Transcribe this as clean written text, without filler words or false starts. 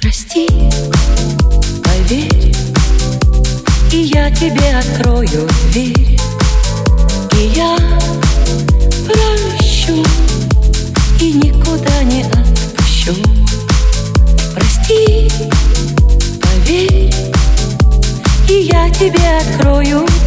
Прости, поверь, и я тебе открою дверь, и я прощу, и никуда не отпущу. Прости, поверь, и я тебе открою